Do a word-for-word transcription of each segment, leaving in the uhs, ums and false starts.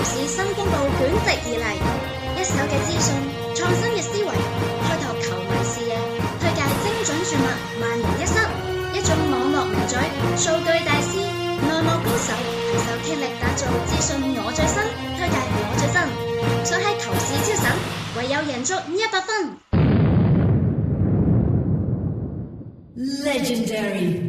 市新風暴捲席而嚟，一手嘅資訊，創新嘅思維，開拓球迷視野，推介精準注物，萬無一失。一種網絡名嘴，數據大師，內幕高手，攜手傾力打造資訊我最新，推介我最新，想喺球市超神，唯有贏足一百分。 Legendary。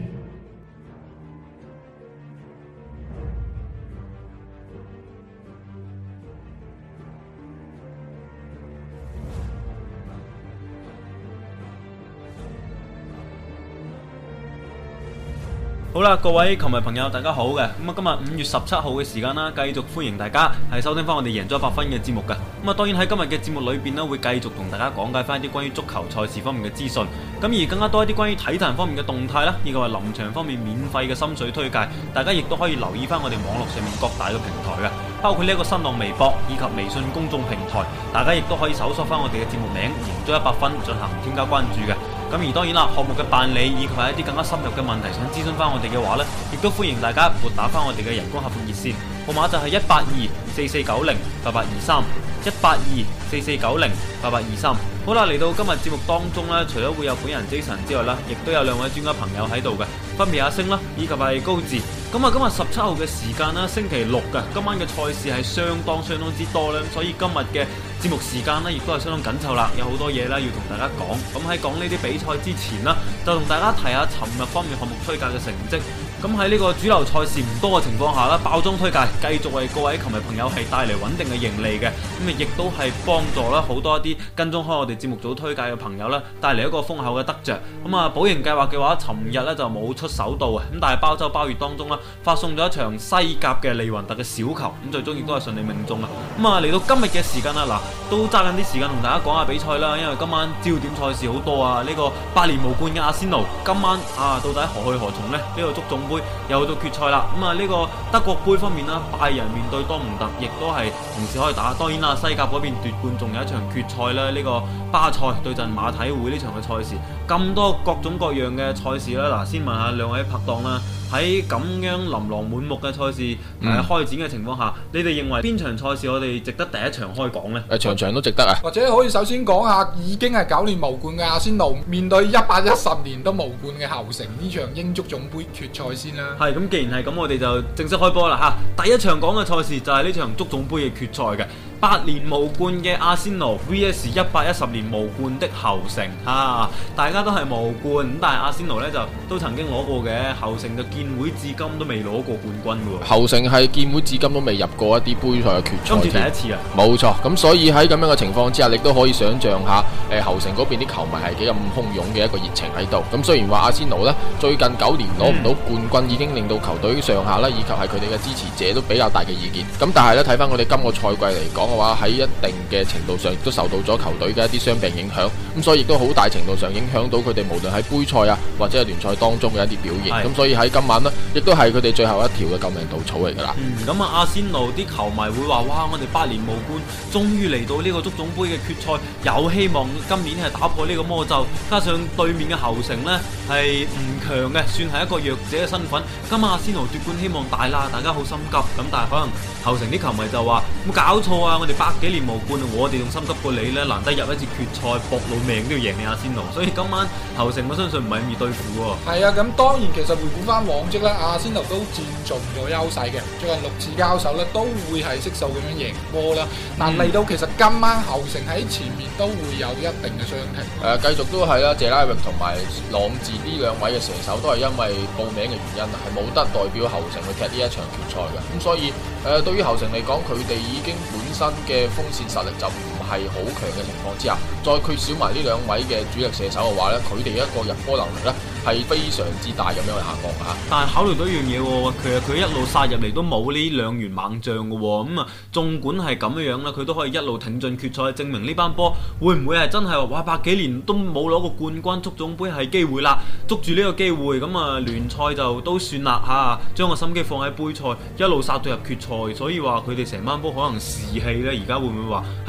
好啦，各位球迷朋友，大家好嘅。咁啊，今日五月十七號嘅時間啦，繼續歡迎大家係收聽翻我哋贏咗一百分嘅節目嘅。咁啊，當然喺今日嘅節目裏邊呢，會繼續同大家講解翻一啲關於足球賽事方面嘅資訊。咁而更加多一啲關於體壇方面嘅動態啦，以及係臨場方面免費嘅心水推介，大家亦都可以留意翻我哋網絡上面各大嘅平台嘅，包括呢一個新浪微博以及微信公眾平台，大家亦都可以搜索翻我哋嘅節目名贏咗一百分進行添加關注嘅。咁而當然啦，項目嘅辦理以及係一啲更加深入嘅問題想諮詢翻我哋嘅話呢，亦都歡迎大家撥打翻我哋嘅人工客服熱線，號碼就係一八二四四九零八八二三，一八二四四九零八八二三。好啦，嚟到今日節目當中呢，除咗會有本人 Jason 之外啦，亦都有兩位專家朋友喺度嘅，分別阿星啦，以及係高志。咁啊，今日十七號嘅時間啦，星期六嘅，今晚嘅賽事係相當相當之多啦，所以今日嘅節目時間呢，亦都係相當緊湊啦，有好多嘢啦要同大家講。咁喺講呢啲比賽之前啦，就同大家提下尋日方面項目推介嘅成績。咁喺呢個主流賽事唔多嘅情況下啦，爆裝推介繼續為各位球迷朋友係帶嚟穩定嘅盈利嘅，咁啊亦都係幫助啦好多一啲跟蹤開我哋節目組推介嘅朋友啦，帶嚟一個豐厚嘅得着。咁啊，保盈計劃嘅話，尋日咧就冇出手到啊，咁但係包周包月當中啦，發送咗一場西甲嘅利雲特嘅小球，咁最終亦都係順利命中啦。咁啊，嚟到今日嘅時間啦，嗱都揸緊啲時間同大家講下比賽啦，因為今晚焦點賽事好多啊，呢、這個八年無冠嘅阿仙奴今晚啊到底何去何從呢？呢、這個足總杯又到決賽啦，咁啊呢個德國杯方面啦，拜仁面對多蒙特，亦都係同時可以打。當然啦，西甲嗰邊奪冠仲有一場決賽啦，呢、這個巴塞對陣馬體會呢場嘅賽事，咁多各種各樣嘅賽事啦。嗱，先問下兩位拍檔啦，喺咁樣琳琅滿目嘅賽事誒、嗯呃、開展嘅情況下，你哋認為邊場賽事我哋值得第一場開講呢？ 誒，場場都值得啊！ 或者可以首先講下已經係九年無冠嘅阿仙奴面對一百一十年都無冠嘅侯城呢場英足總杯決賽先啦。 係咁，既然係咁，我哋就正式開波啦嚇！第一場講嘅賽事就係呢場足總杯嘅決賽嘅。八年無冠嘅阿仙奴 V S 一百一十年無冠的侯城嚇、啊，大家都係無冠，咁但係阿仙奴呢就都曾經攞過嘅，侯城就建會至今都未攞過冠軍嘅喎。 侯城係建會至今都未入過一啲杯賽嘅決賽， 今次第一次啊！ 冇錯，咁所以喺咁樣嘅情況之下，你都可以想像下，誒侯城嗰邊啲球迷係幾咁洶湧嘅一個熱情喺度。咁雖然話阿仙奴呢最近九年攞唔到冠軍，嗯、已經令到球隊上下啦，以及係佢哋嘅支持者都比較大嘅意見。咁但係呢，睇翻我哋今個賽季嚟講嘅話，喺一定嘅程度上亦都受到咗球隊嘅一啲傷病影響，咁所以亦都好大程度上影響到佢哋無論喺杯賽啊或者係聯賽當中嘅一啲表現。咁所以喺今晚呢，亦都係佢哋最後一條嘅救命稻草嚟噶啦。 咁啊、嗯，阿仙奴啲球迷會話：哇！我哋八年無冠，終於嚟到呢個足總杯嘅決賽，有希望今年係打破呢個魔咒。加上對面嘅侯城呢係唔強嘅，算係一個弱者嘅身份。今晚阿仙奴奪冠希望大啦，大家好心急。咁但係可能侯城啲球迷就話：冇搞錯啊！我哋百幾年無冠，我哋仲心急過你呢，難得入一次決賽，搏老命都要贏你阿仙奴。所以今晚侯城我相信唔係咁易對付喎。係啊，咁當然其實回顧翻往績咧，阿仙奴都佔盡咗優勢嘅，最近六次交手咧都會係悉數咁樣贏波啦。嗱嚟、嗯、到其實今晚侯城喺前面都會有一定嘅傷停。誒、 呃，繼續都係啦，謝拉域同埋朗治呢兩位嘅射手都係因為報名嘅原因係冇得代表侯城去踢呢一場決賽嘅。咁所以誒、呃，對於侯城嚟講，佢哋已經本身嘅鋒線實力就唔係好強嘅情況之下，再缺少埋呢兩位嘅主力射手嘅話咧，佢哋一個入波能力咧係非常之大咁樣去下降嚇。 但係考慮到一樣嘢喎，其實佢一路殺入嚟都冇呢兩員猛將嘅喎，咁啊，縱管係咁樣樣啦，佢都可以一路挺進決賽，證明呢班波會唔會係真係話哇百幾年都冇攞過冠軍，足總杯係機會啦，捉住呢個機會，咁啊聯賽就都算啦嚇，將個心機放喺杯賽，一路殺到入決賽，所以話佢哋成班波可能士氣咧，而家會唔會話係十分之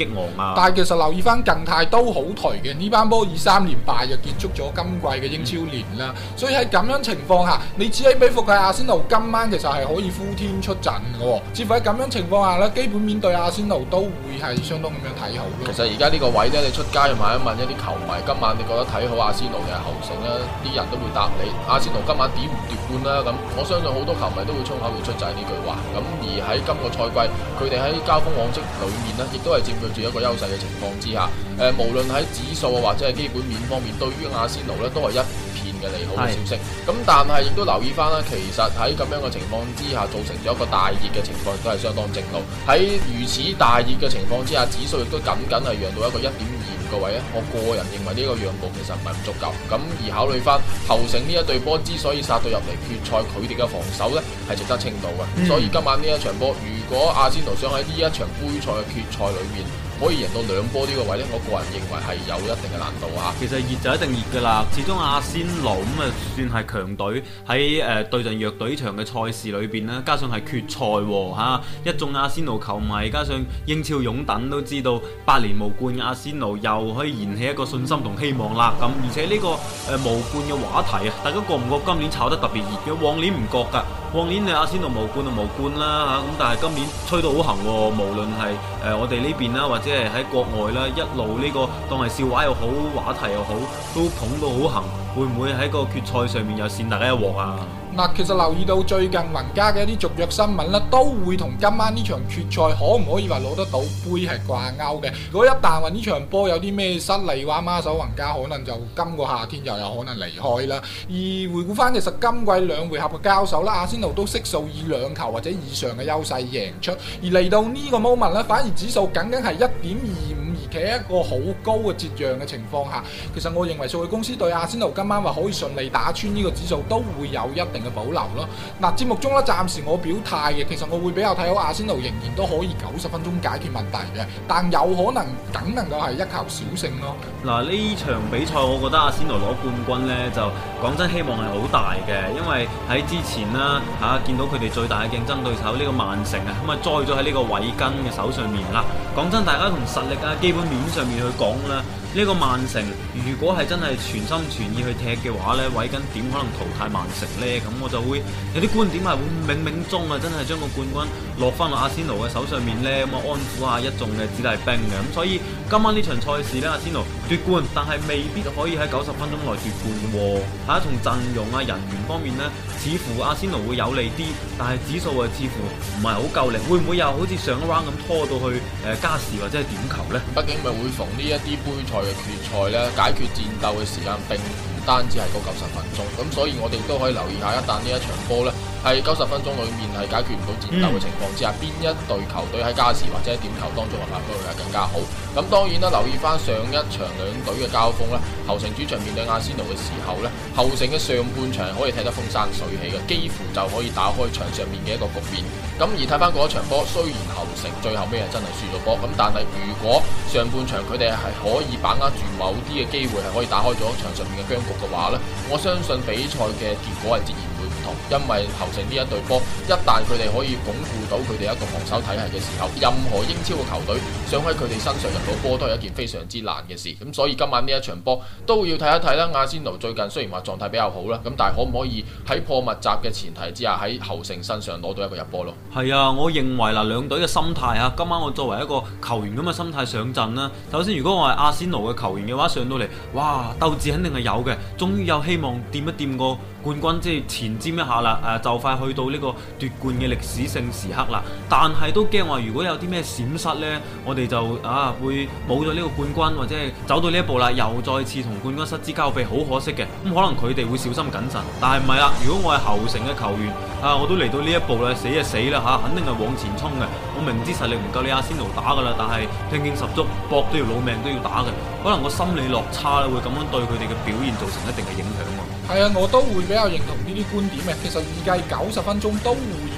激昂啊。 但係其實留意翻近態都好頹嘅，呢班波以三連敗就結束咗今季嘅英超年啦。嗯、所以喺咁樣情況下，你此起彼伏嘅阿仙奴今晚其實係可以呼天出陣嘅喎。似乎喺咁樣情況下呢，基本面對阿仙奴都會係相當咁樣睇好咯。 其實而家呢個位呢，你出街去問一問一啲球迷，今晚你覺得睇好阿仙奴定係侯城呢？啲人都會答你阿仙奴今晚點唔奪冠啦。咁我相信好多球迷都會衝口而出就係呢句話。咁而喺今個賽季，佢哋喺交鋒往績裏面呢，亦都係佔據住一個優勢嘅情況之下，誒、呃，無論喺指數或者係基本面方面，對於阿仙奴呢都係一片嘅利好嘅消息。咁但係亦都留意翻啦，其實喺咁樣嘅情況之下，造成咗一個大熱嘅情況，亦都係相當正路。喺如此大熱嘅情況之下，指數亦都僅僅係讓到一個一點二五個位咧。我個人認為呢個讓步其實唔係咁足夠。咁而考慮翻侯城呢一隊波之所以殺到入嚟決賽，佢哋嘅防守呢係值得稱道嘅。嗯、所以今晚呢一場波，如果阿仙奴想喺呢一場杯賽嘅決賽裏面可以贏到兩波呢個位呢，我個人認為係有一定嘅難度啊。 其實熱就一定熱噶啦，始終阿仙奴咁啊算係強隊，喺誒對陣弱隊場嘅賽事裏邊呢，加上係決賽吓、啊，一眾阿仙奴球迷加上英超擁躉都知道八年無冠嘅阿仙奴又可以燃起一個信心同希望啦。咁而且呢、這個誒、呃、無冠嘅話題啊，大家覺唔覺今年炒得特別熱嘅？往年唔覺噶，往年你阿仙奴無冠就無冠啦吓，咁、啊、但係今年吹到好行，無論係誒我哋呢邊啦，或者係喺國外啦，一路呢、這個當係笑話又好，話題又好，都捧到好行。會唔會喺個決賽上面又扇大家一鑊啊？ 嗱，其實留意到最近雲加嘅一啲續約新聞咧，都會同今晚呢場決賽可唔可以話攞得到杯係掛鈎嘅。如果一旦話呢場波有啲咩失利嘅話，孖手雲加可能就今個夏天又有可能離開啦。而回顧翻其實今季兩回合嘅交手啦，阿仙奴都悉數以兩球或者以上嘅優勢贏出，而嚟到呢個 moment 咧，反而指數僅僅係一點二五，而企喺一個好高嘅折讓嘅情況下，其實我認為數據公司對阿仙奴今晚話可以順利打穿呢個指數都會有一定嘅保留咯。嗱，節目中咧暫時我表態嘅，其實我會比較睇好阿仙奴仍然都可以九十分鐘解決問題嘅，但有可能僅能夠係一球小勝咯。 嗱，呢場比賽我覺得阿仙奴攞冠軍呢，就講真希望係好大嘅，因為喺之前啦嚇、啊、見到佢哋最大嘅競爭對手呢、呢個曼城啊，咁啊栽咗喺呢個韋根嘅手上面啦。講真，大家從實力啊基本面上面去講啦。呢個曼城如果係真係全心全意去踢嘅話呢，韋根點可能淘汰曼城呢？咁我就會有啲觀點係會冥冥中啊，真係將個冠軍落翻落阿仙奴嘅手上面呢，咁啊安撫下一眾嘅子弟兵嘅。咁所以今晚呢場賽事呢，阿仙奴奪冠，但係未必可以喺九十分鐘內奪冠嘅喎。嚇，從陣容啊人員方面呢，似乎阿仙奴會有利啲，但係指數啊似乎唔係好夠力，會唔會又好似上一 round 咁拖到去誒加時或者係點球呢？ 畢竟咪會逢呢一啲杯賽嘅決賽咧，解決戰鬥嘅時間並唔單止係嗰九十分鐘，咁所以我哋都可以留意下，一旦呢一場波咧係九十分鐘裏面係解決唔到戰鬥嘅情況之下，邊、嗯、一隊球隊喺加時或者點球當中嘅發揮會係更加好。咁當然啦，留意翻上一場兩隊嘅交鋒咧，侯城主場面對阿仙奴嘅時候咧，侯城嘅上半場可以踢得風生水起嘅，幾乎就可以打開場上面嘅一個局面。咁而睇翻嗰一場波，雖然侯城最後尾係真係輸咗波，咁但係如果上半場佢哋係可以把握住某啲嘅機會，係可以打開咗場上面嘅僵局嘅話咧，我相信比賽嘅結果係截然會唔同。因為侯城呢一隊波，一旦佢哋可以鞏固到佢哋一個防守體系嘅時候，任何英超嘅球隊想喺佢哋身上入到波都係一件非常之難嘅事。咁所以今晚呢一場波都要睇一睇啦。阿仙奴最近雖然話狀態比較好啦，咁但係可唔可以喺破密集嘅前提之下，喺侯城身上攞到一個入波咯？係啊，我認為嗱，兩隊嘅心態啊，今晚我作為一個球員咁嘅心態上陣啦。首先，如果我係阿仙奴嘅球員嘅話，上到嚟，哇，鬥志肯定係有嘅，終於有希望掂一掂個冠軍，即係前瞻一下啦。誒、啊，就快去到呢個奪冠嘅歷史性時刻啦。但係都驚話，如果有啲咩閃失呢，我哋就啊會冇咗呢個冠軍，或者係走到呢一步啦，又再次同冠軍失之交臂，好可惜嘅。咁可能佢哋會小心謹慎，但係唔係啦。如果我係侯城嘅球員，啊，我都嚟到呢一步啦，死就死啦嚇、啊，肯定係往前衝嘅。我明知實力唔夠你阿仙奴打噶啦，但係拼勁十足，搏都要老命都要打嘅。可能個心理落差咧，會咁樣對佢哋嘅表現造成一定嘅影響喎。 係啊，我都會比較認同呢啲觀點嘅。其實預計九十分鐘都會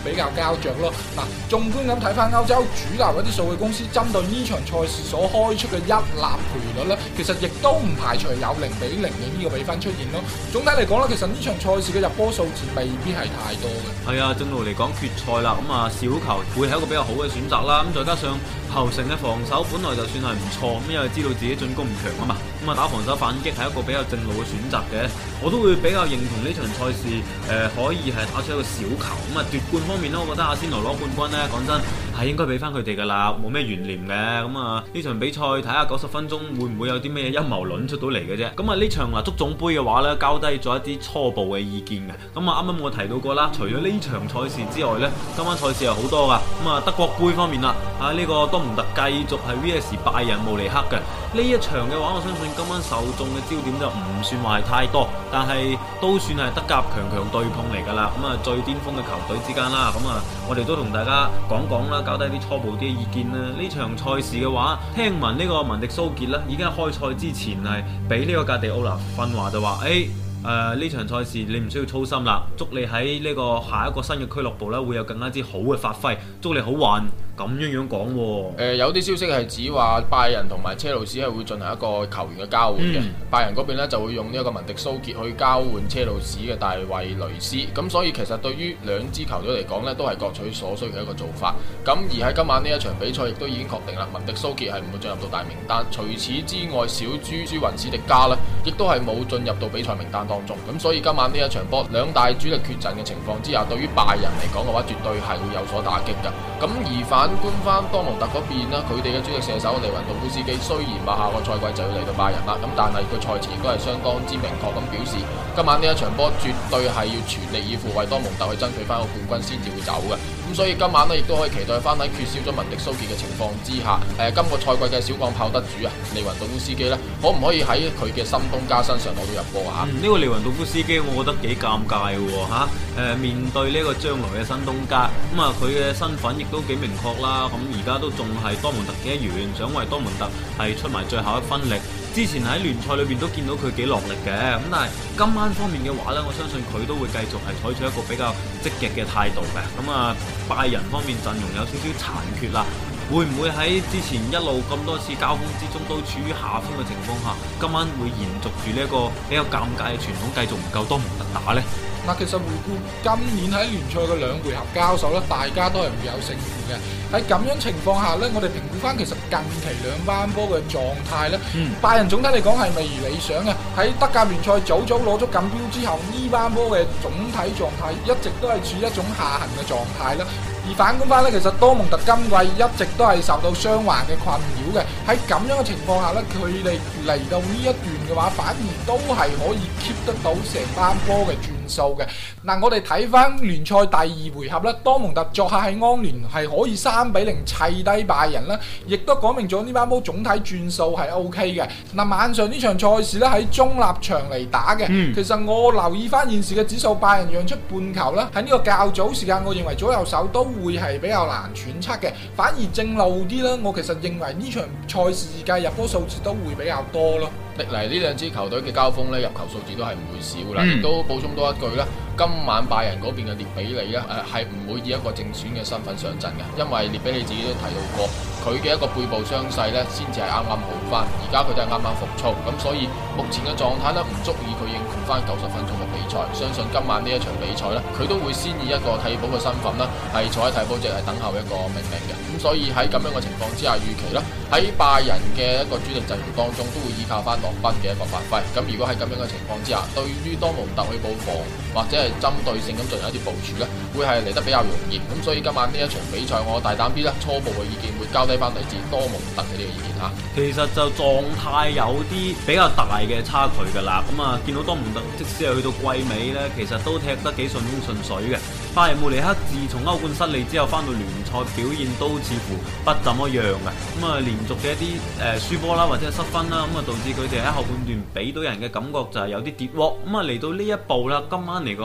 比較膠着咯。嗱，縱觀咁睇翻歐洲主流一啲數據公司針對呢場賽事所開出嘅一立賠率咧，其實亦都唔排除有零比零嘅呢個比分出現咯。總體嚟講咧，其實呢場賽事嘅入波數字未必係太多嘅。 係啊，正路嚟講決賽啦，咁啊小球會係一個比較好嘅選擇啦。咁再加上侯城嘅防守本來就算係唔錯，咁因為知道自己進攻唔強啊嘛，咁啊打防守反擊係一個比較正路嘅選擇嘅。我都會比較認同呢場賽事，誒、呃、可以係打出一個小球。咁啊奪冠方面呢，我覺得阿仙奴攞冠軍呢，講真係應該俾翻佢哋噶啦，冇咩懸念嘅。咁啊呢場比賽睇下九十分鐘會唔會有啲咩陰謀論出到嚟嘅啫。咁啊呢場嗱足總杯嘅話呢，交低咗一啲初步嘅意見嘅。咁啊啱啱我提到過啦，除咗呢場賽事之外呢，今晚賽事係好多噶。咁啊德國杯方面啦，啊呢、這個多蒙特繼續係 V S 拜仁慕尼黑嘅呢一場嘅話，我相信今晚受眾嘅焦點就唔算話係太多，但係都算係德甲強強對碰嚟噶啦。咁啊最巔峰嘅球隊之間啦，咁啊我哋都同大家講講啦，交低啲初步啲意見啦。呢場賽事嘅話，聽聞呢個文迪蘇傑啦，已經係開賽之前係俾呢個格迪奧拿訓話就話，誒、欸。誒呢、呃、場賽事你唔需要操心啦，祝你喺呢個下一個新嘅俱樂部咧會有更加之好嘅發揮，祝你好運咁樣樣講喎。 誒有啲消息係指話拜仁同埋車路士係會進行一個球員嘅交換嘅，嗯、拜仁嗰邊咧就會用呢一個文迪蘇傑去交換車路士嘅大衛雷斯，咁所以其實對於兩支球隊嚟講咧都係各取所需嘅一個做法。咁而喺今晚呢一場比賽亦都已經確定啦，文迪蘇傑係唔會進入到大名單，除此之外小豬朱雲史迪加咧亦都係冇進入到比賽名單當中。咁所以今晚呢一場波兩大主力缺陣嘅情況之下，對於拜仁嚟講嘅話絕對係會有所打擊㗎。咁而反觀翻多蒙特嗰邊啦，佢哋嘅主力射手利雲道夫斯基雖然話下個賽季就要嚟到拜仁啦，咁但係佢賽前亦都係相當之明確咁表示，今晚呢一場波絕對係要全力以赴為多蒙特去爭取翻個冠軍先至會走嘅。咁所以今晚呢亦都可以期待翻喺缺少咗文迪蘇傑嘅情況之下，誒、呃、今個賽季嘅小鋼炮得主啊利雲道夫斯基呢，可唔可以喺佢嘅新東家身上攞到入波啊？呢、 嗯這個利雲道夫斯基我覺得幾尷尬嘅喎嚇，誒面對呢個將來嘅新東家，咁啊佢嘅身份亦都幾明確啦，咁而家都仲係多蒙特嘅一員，想為多蒙特係出埋最後一分力。之前喺聯賽裏邊都見到佢幾落力嘅，咁但係今晚方面嘅話呢，我相信佢都會繼續係採取一個比較積極嘅態度嘅。咁啊拜仁方面陣容有少少殘缺啦，會唔會喺之前一路咁多次交鋒之中都處於下風嘅情況下，今晚會延續住呢一個比較尷尬嘅傳統，繼續唔夠多蒙特打呢？ 嗱，其實回顧今年喺聯賽嘅兩回合交手咧，大家都係會有勝負嘅。喺咁樣情況下咧，我哋評估翻其實近期兩班波嘅狀態咧，嗯、拜仁總體嚟講係未如理想嘅。喺德甲聯賽早早攞咗錦標之後，呢班波嘅總體狀態一直都係處於一種下行嘅狀態啦。而反觀翻咧，其實多蒙特今季一直都係受到傷患嘅困擾嘅。喺咁樣嘅情況下咧，佢哋嚟到呢一段嘅話，反而都係可以 keep 得到成班波嘅轉數嘅。嗱，我哋睇翻聯賽第二回合咧，多蒙特作客喺安聯係可以三比零砌低拜仁啦，亦都講明咗呢班波總體轉數係 O K 嘅。嗱，晚上呢場賽事咧喺中立場嚟打嘅，嗯、其實我留意翻現時嘅指數，拜仁讓出半球啦。喺呢個較早時間，我認為左右手都會係比較難揣測嘅，反而正路啲啦。我其實認為呢場賽事計入波數字都會比較多咯。 歷嚟呢兩支球隊嘅交鋒咧，入球數字都係唔會少啦。亦、嗯、都補充多一句啦，今晚拜仁嗰邊嘅列比利咧，誒係唔會以一個正選嘅身份上陣嘅，因為列比利自己都提到過，佢嘅一個背部傷勢咧，先至係啱啱好翻，而家佢都係啱啱復操，咁所以目前嘅狀態咧，唔足以佢應付翻九十分鐘嘅比賽。相信今晚呢一場比賽咧，佢都會先以一個替補嘅身份啦，係坐喺替補席係等候一個命令嘅。咁所以喺咁樣嘅情況之下，預期啦喺拜仁嘅一個主力陣容當中，都會依靠翻洛賓嘅一個發揮。咁如果喺咁樣嘅情況之下，對於多蒙特去布防或者係針對性咁進行一啲部署咧，會係嚟得比較容易。咁所以今晚呢一場比賽，我大膽啲啦，初步嘅意見會交低翻嚟自多蒙特嘅呢個意見吓。 其實就狀態有啲比較大嘅差距噶啦。咁啊，見到多蒙特即使係去到季尾咧，其實都踢得幾順風順水嘅。拜仁慕尼黑自從歐冠失利之後，翻到聯賽表現都似乎不怎麼樣嘅。咁啊，連續嘅一啲誒輸波啦，或者係失分啦，咁啊導致佢哋喺後半段俾到人嘅感覺就係有啲跌窩。咁啊嚟到呢一步啦，今晚嚟講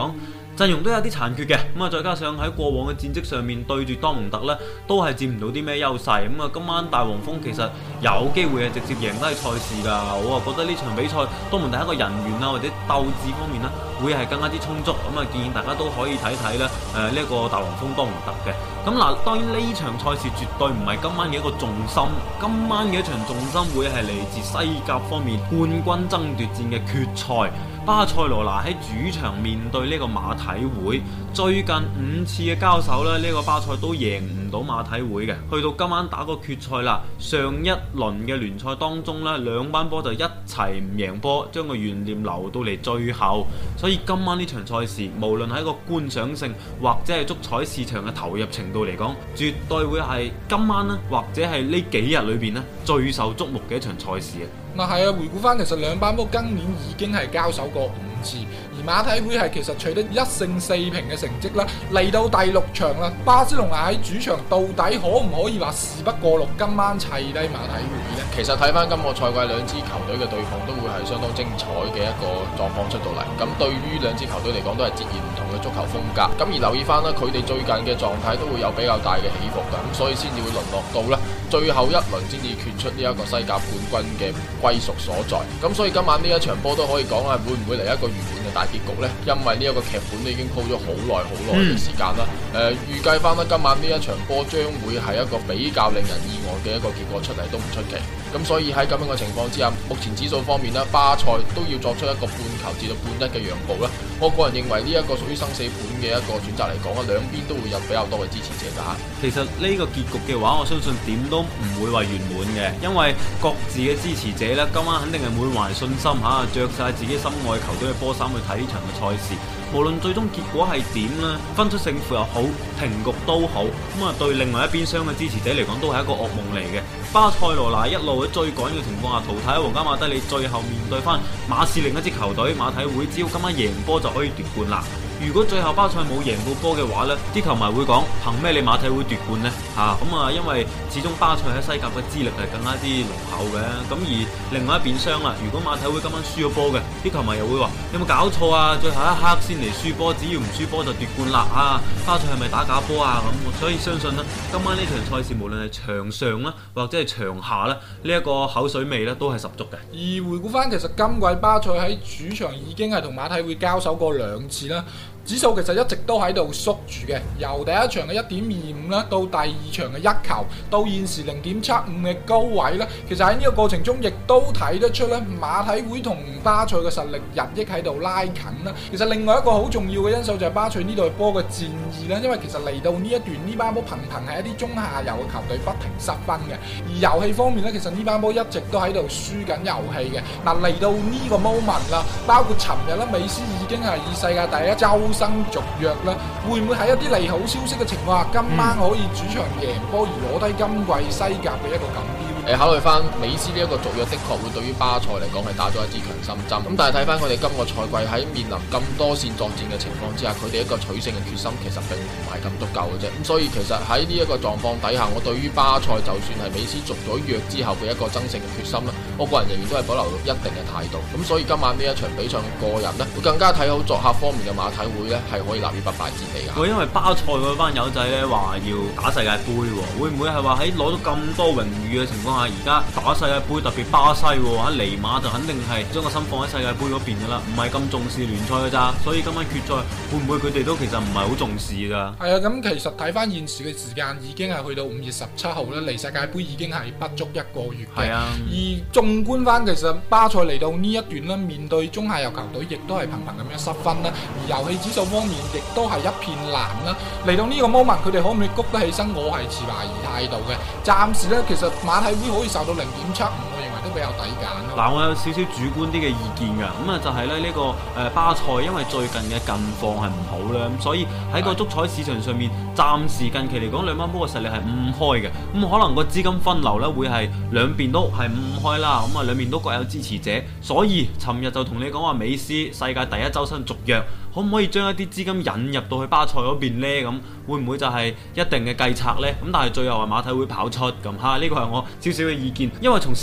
陣容都有啲殘缺嘅，咁啊再加上喺過往嘅戰績上面對住多蒙特呢，都係佔唔到啲咩優勢，咁啊今晚大黃蜂其實有機會係直接贏低賽事㗎，我啊覺得呢場比賽多蒙特喺一個人員啊或者鬥志方面呢，會係更加之充足，咁啊建議大家都可以睇睇咧誒呢一個大黃蜂多蒙特嘅。咁嗱，當然呢場賽事絕對唔係今晚嘅一個重心，今晚嘅一場重心會係嚟自西甲方面冠軍爭奪戰嘅決賽。巴塞羅那喺主場面對呢個馬體會，最近五次嘅交手咧，呢、這個巴塞都贏唔到馬體會嘅。去到今晚打個決賽啦，上一輪嘅聯賽當中呢，兩班波就一齊唔贏波，將個懸念留到嚟最後。所以今晚呢場賽事，無論喺個觀賞性或者係足彩市場嘅投入程度嚟講，絕對會係今晚呢，或者係呢幾日裏邊呢最受矚目嘅一場賽事啊！ 嗱係啊，回顧翻其實兩班波今年已經係交手過五次，而馬體會係其實取得一勝四平嘅成績啦。嚟到第六場啦，巴塞隆拿喺主場到底可唔可以話事不過六，今晚砌低馬體會呢？ 其實睇翻今個賽季兩支球隊嘅對碰都會係相當精彩嘅一個狀況出到嚟。咁對於兩支球隊嚟講都係截然唔同嘅足球風格。咁而留意翻啦，佢哋最近嘅狀態都會有比較大嘅起伏㗎，咁所以先至會淪落到啦最後一輪先至決出呢一個西甲冠軍嘅歸屬所在。咁所以今晚呢一場波都可以講係會唔會嚟一個圓滿嘅大結局呢？因為呢一個劇本都已經鋪咗好耐好耐嘅時間啦。誒、嗯，預計翻啦，今晚呢一場波將會係一個比較令人意外嘅一個結果出嚟都唔出奇。咁所以喺咁樣嘅情況之下，目前指數方面呢，巴塞都要作出一個半球至到半一嘅讓步啦。我個人認為呢一個屬於生死盤嘅一個選擇嚟講啊，兩邊都會有比較多嘅支持者㗎。 其實呢個結局嘅話，我相信點都唔會話圓滿嘅，因為各自嘅支持者呢，今晚肯定係滿懷信心嚇，着晒自己心愛球隊嘅波衫去睇呢場嘅賽事。無論最終結果係點啦，分出勝負又好，平局都好，咁啊對另外一邊廂嘅支持者嚟講都係一個噩夢嚟嘅。巴塞羅那一路喺追趕嘅情況下淘汰皇家馬德里，最後面對翻馬刺另一支球隊馬體會，只要今晚贏波就可以奪冠啦。如果最後巴塞冇贏到波嘅話呢，啲球迷會講憑咩你馬體會奪冠呢？嚇咁啊，因為始終巴塞喺西甲嘅資歷係更加之濃厚嘅。咁而另外一邊廂啦，如果馬體會今晚輸咗波嘅，啲球迷又會話有冇搞錯啊？最後一刻先嚟輸波，只要唔輸波就奪冠啦！啊，巴塞係咪打假波啊？咁所以相信呢，今晚呢場賽事無論係場上啦，或者係場下咧，呢一個口水味咧都係十足嘅。 而回顧翻，其實今季巴塞喺主場已經係同馬體會交手過兩次啦。指數其實一直都喺度縮住嘅，由第一場嘅一點二五啦，到第二場嘅一球，到現時零點七五嘅高位啦。其實喺呢個過程中，亦都睇得出咧，馬體會同巴塞嘅實力日益喺度拉近啦。其實另外一個好重要嘅因素就係巴塞呢隊波嘅戰意啦，因為其實嚟到呢一段呢班波頻頻係一啲中下游嘅球隊不停失分嘅，而遊戲方面咧，其實呢班波一直都喺度輸緊遊戲嘅。嗱，嚟到呢個 moment 啦，包括尋日啦，美斯已經係以世界第一周新續約啦，會唔會喺一啲利好消息嘅情況下，今晚可以主場贏波而攞低今季西甲嘅一個錦標？ 誒，考慮翻美斯呢一個續約，的確會對於巴塞嚟講係打咗一支強心針。咁但係睇翻佢哋今個賽季喺面臨咁多線作戰嘅情況之下，佢哋一個取勝嘅決心其實並唔係咁足夠嘅啫。咁所以其實喺呢一個狀況底下，我對於巴塞就算係美斯續咗約之後嘅一個爭勝嘅決心咧，我個人仍然都係保留一定嘅態度。咁所以今晚呢一場比賽，個人呢會更加睇好作客方面嘅馬體會呢係可以立於不敗之地嘅。 因為巴塞嗰班友仔呢話要打世界盃，會唔會係話喺攞到咁多榮譽嘅情況下，而家打世界盃特別巴西喎，尼馬就肯定係將個心放喺世界盃嗰邊噶啦，唔係咁重視聯賽噶咋，所以今晚決賽會唔會佢哋都其實唔係好重視噶？ 係啊，咁其實睇翻現時嘅時間已經係去到五月十七號啦，離世界盃已經係不足一個月嘅。係啊，而縱觀翻其實巴塞嚟到呢一段咧，面對中下游球隊，亦都係頻頻咁樣失分啦，而遊戲指數方面亦都係一片藍啦。嚟到呢個 moment，佢哋可唔可以谷得起身？我係持懷疑態度嘅。暫時咧，其實馬體會可以受到零點七五，我認為都比較抵揀咯。 嗱，我有少少主觀啲嘅意見㗎，咁啊就係咧呢個誒巴塞，因為最近嘅近況係唔好啦，咁所以喺個足彩市場上面，暫時近期嚟講兩班波嘅實力係五開嘅，咁可能個資金分流咧會係兩邊都係五開啦，咁啊兩邊都各有支持者，所以尋日就同你講話美斯世界第一周身續約，可唔可以將一啲資金引入到去巴塞嗰邊呢？咁會唔會就係一定嘅計策呢？咁但係最後係馬體會跑出咁嚇，呢個係我少少嘅意見，因為從實力或者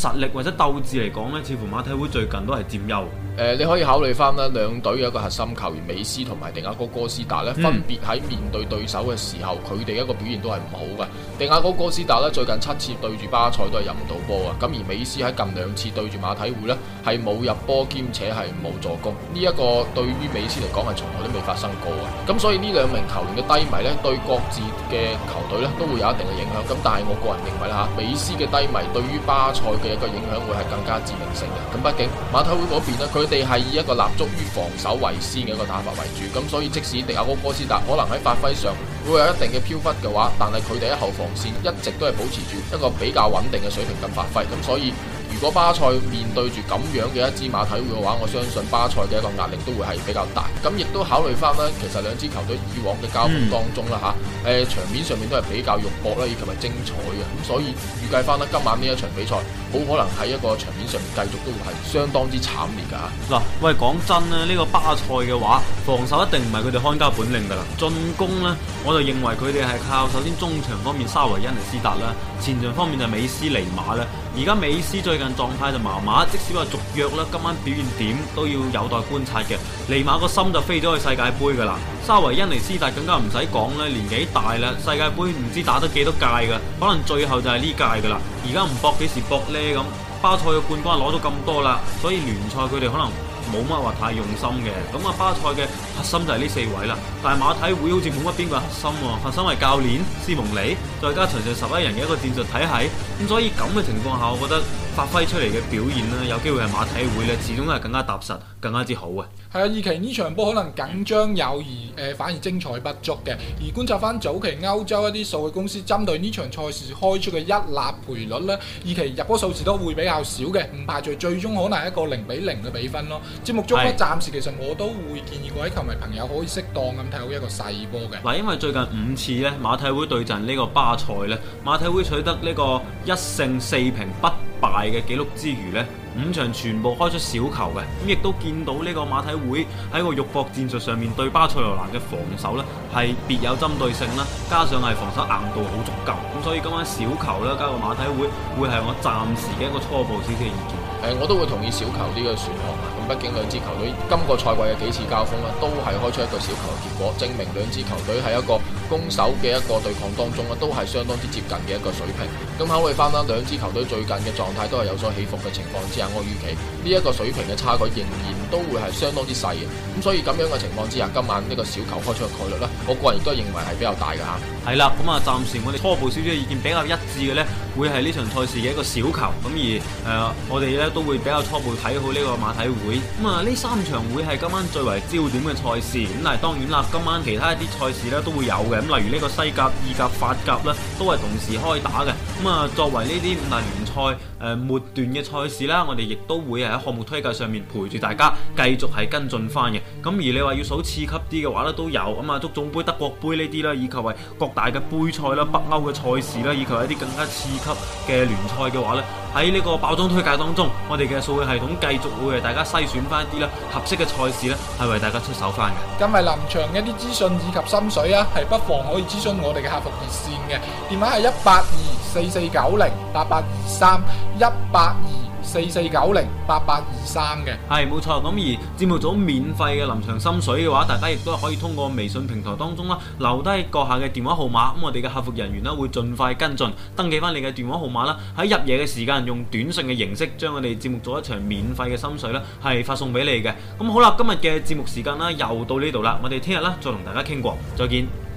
者鬥志嚟講呢，似乎馬體會最近都係佔優。 誒、呃，你可以考慮翻啦，兩隊嘅一個核心球員美斯同埋迪亞哥哥斯達咧，分別喺面對對手嘅時候，佢哋一個表現都係唔好嘅。迪亞哥哥斯達咧，最近七次對住巴塞都係入唔到波啊，咁而美斯喺近兩次對住馬體會呢，係冇入波兼且係冇助攻，呢、這、一個對於美斯嚟講係從來都未發生過嘅。咁所以呢兩名球員嘅低迷呢，對各自嘅球隊呢都會有一定嘅影響。咁但係我個人認為啦嚇，美斯嘅低迷對於巴塞嘅一個影響會係更加致命性嘅。咁畢竟馬體會嗰邊呢，佢哋係以一個立足於防守為先嘅一個打法為主，咁所以即使迪亞哥哥斯達可能喺發揮上會有一定嘅飄忽嘅話，但係佢哋喺後防線一直都係保持住一個比較穩定嘅水平咁發揮，咁所以如果巴塞面對住咁樣嘅一支馬體會嘅話，我相信巴塞嘅一個壓力都會係比較大。咁亦都考慮翻啦，其實兩支球隊以往嘅交鋒當中啦吓，誒、嗯呃、場面上面都係比較肉搏啦，以及係精彩嘅。咁所以預計翻啦，今晚呢一場比賽好可能喺一個場面上面繼續都會係相當之慘烈噶吓。 嗱，喂，講真咧，呢、這個巴塞嘅話，防守一定唔係佢哋看家本領噶啦。進攻呢，我就認為佢哋係靠首先中場方面沙維恩尼斯達啦，前場方面就美斯尼馬啦。而家美斯最近狀態就麻麻，即使話續約啦，今晚表現點都要有待觀察嘅。尼馬個心就飛咗去世界盃噶啦，沙維恩尼斯達更加唔使講啦，年紀大啦，世界盃唔知打得幾多屆噶，可能最後就係呢屆噶啦。而家唔搏幾時搏呢？咁巴塞嘅冠軍攞到咁多啦，所以聯賽佢哋可能冇乜話太用心嘅。咁啊，巴塞嘅核心就係呢四位啦，但係馬體會好似冇乜邊個核心喎，核心係教練斯蒙尼，再加場上十一人嘅一個戰術體系，咁所以咁嘅情況下，我覺得發揮出嚟嘅表現呢，有機會係馬體會呢，始終係更加踏實，更加之好嘅。 係啊，二期呢場波可能緊張有而誒、呃，反而精彩不足嘅。而觀察翻早期歐洲一啲數據公司針對呢場賽事開出嘅一立賠率呢，二期入波數字都會比較少嘅，唔排除最終可能係一個零比零嘅比分咯。節目中呢，暫時其實我都會建議各位球迷朋友可以適當咁睇好一個細波嘅。 嗱，因為最近五次呢，馬體會對陣呢個巴塞呢，馬體會取得呢個一勝四平不敗嘅紀錄之餘呢，五場全部開出小球嘅，咁亦都見到呢個馬體會喺個肉搏戰術上面對巴塞羅那嘅防守呢係別有針對性啦，加上係防守硬度好足夠，咁所以今晚小球啦加個馬體會會係我暫時嘅一個初步少少嘅意見。 誒、呃，我都會同意小球呢個選項啊。咁畢竟兩支球隊今個賽季嘅幾次交鋒啦，都係開出一個小球嘅結果，證明兩支球隊喺一個攻守嘅一個對抗當中咧，都係相當之接近嘅一個水平。咁考慮翻啦，兩支球隊最近嘅狀態都係有所起伏嘅情況之下，我預期呢一個水平嘅差距仍然都會係相當之細嘅。咁所以咁樣嘅情況之下，今晚呢個小球開出嘅概率呢，我個人亦都認為係比較大嘅嚇。係啦，咁啊，暫時我哋初步少少嘅意見比較一致嘅呢，會係呢場賽事嘅一個小球。咁而誒、呃，我哋呢都會比較初步睇好呢個馬體會。咁啊，呢三場會係今晚最為焦點嘅賽事。咁但係當然啦，今晚其他一啲賽事呢都會有嘅。咁例如呢個西甲、意甲、法甲呢，都係同時開打嘅。咁啊，作為呢啲五大聯賽誒末段嘅賽事啦，我哋亦都會喺項目推介上面陪住大家繼續係跟進翻嘅。咁而你話要數次級啲嘅話呢，都有咁啊，足總杯、德國杯呢啲啦，以及係各大嘅杯賽啦、北歐嘅賽事啦，以及係一啲更加次級嘅聯賽嘅話呢，喺呢個爆裝推介當中，我哋嘅數據系統繼續會為大家篩選翻一啲啦合適嘅賽事呢，係為大家出手翻嘅。今日臨場嘅一啲資訊以及心水啊，係不妨可以諮詢我哋嘅客服熱線嘅電話係一八二四四九零八八二三一八二四四九零八八二三嘅。 係冇錯，咁而節目組免費嘅臨場心水嘅話，大家亦都可以通過微信平台當中啦，留低閣下嘅電話號碼，咁我哋嘅客服人員呢會盡快跟進，登記翻你嘅電話號碼啦，喺入夜嘅時間用短信嘅形式將我哋節目組一場免費嘅心水呢係發送俾你嘅。咁好啦，今日嘅節目時間啦又到呢度啦，我哋聽日啦再同大家傾過，再見。